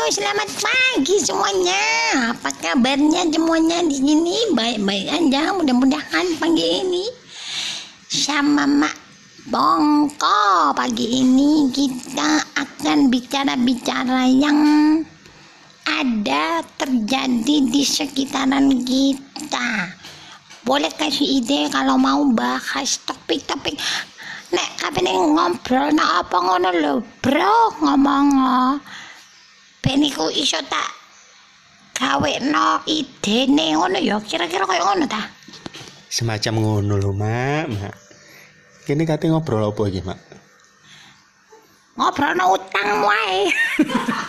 selamat pagi semuanya. Apa kabarnya semuanya di sini? Baik-baik aja. Mudah-mudahan pagi ini sama Mak Bongko. Pagi ini kita akan bicara-bicara yang ada terjadi di sekitaran kita. Boleh kasih ide kalau mau bahas topik-topik. Nek kapan ngobrol nak apa ngono lho, bro, ngomong. Beniku iso tak gawekno idene ngono ya, kira-kira kaya ngono ta? Semacam ngono lho, Mak. Kene kate ngobrol apa iki, Mak? Ngobrolno utang wae.